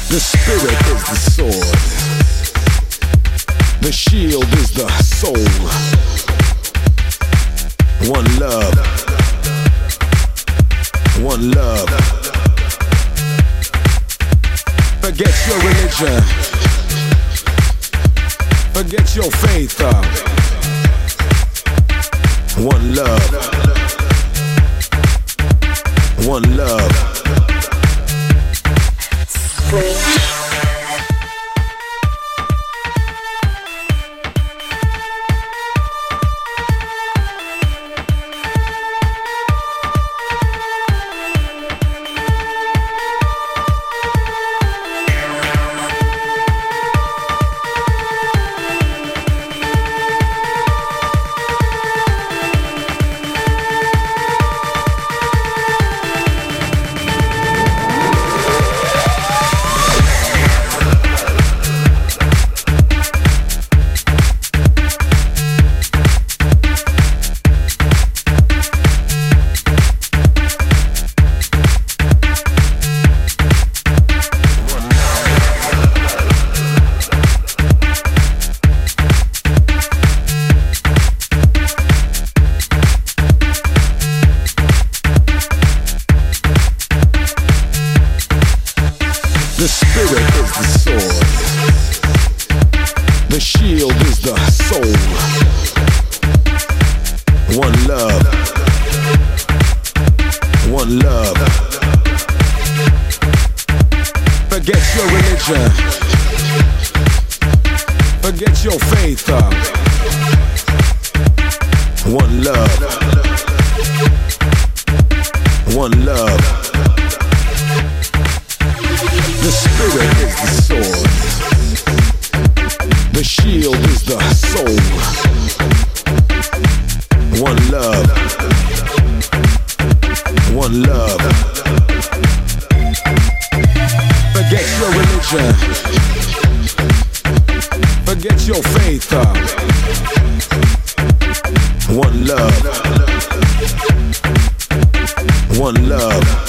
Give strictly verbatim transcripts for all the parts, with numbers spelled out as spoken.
The spirit is the sword. The shield is the soul. One love. One love. Forget your religion. Forget your faith. Uh. One love. One love. The spirit is the sword. The shield is the soul. One love. One love. Forget your religion. Forget your faith. Uh. One love. One love. The spirit is the sword. The shield is the soul. One love. One love. Forget your religion. Forget your faith. Uh. One love. One love.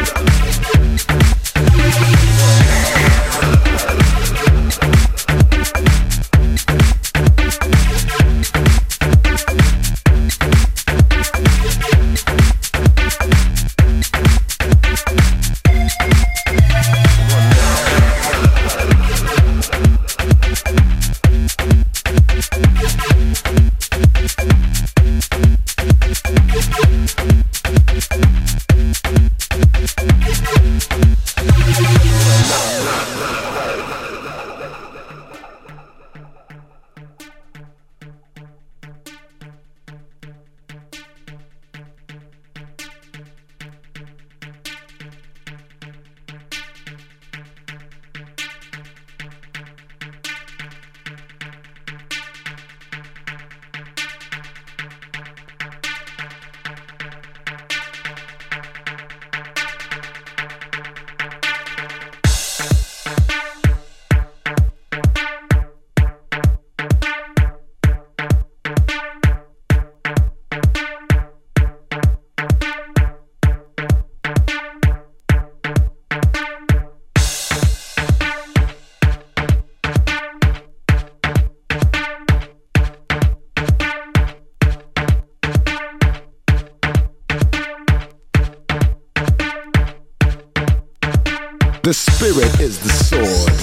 The spirit is the sword.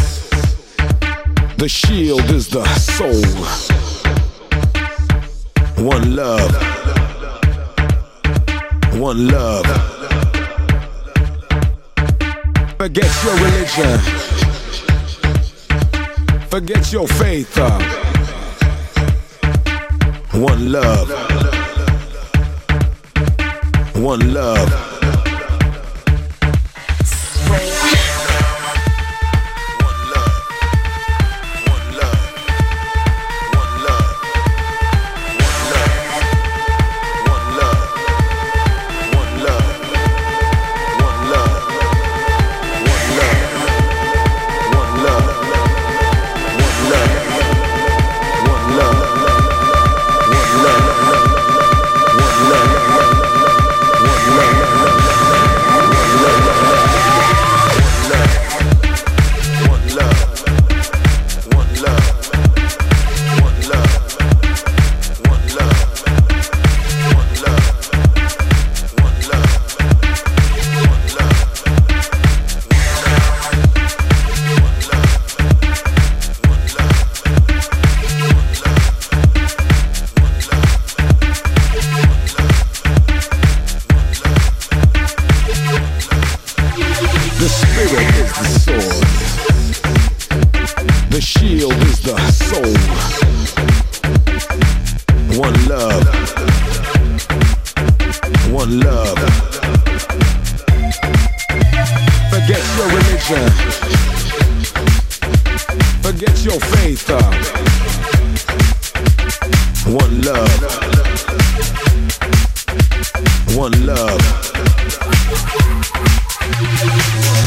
The shield is the soul. One love. One love. Forget your religion. Forget your faith. Uh. One love. One love. Love. the soul. One love. One love. Forget your religion. Forget your faith. Uh. One love. One love.